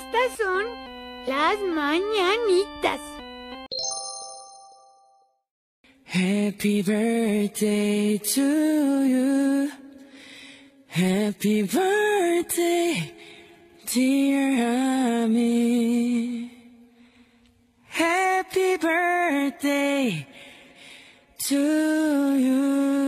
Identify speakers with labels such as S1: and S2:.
S1: Estas son las mañanitas.
S2: Happy birthday to you. Happy birthday, dear Ami. Happy birthday to you.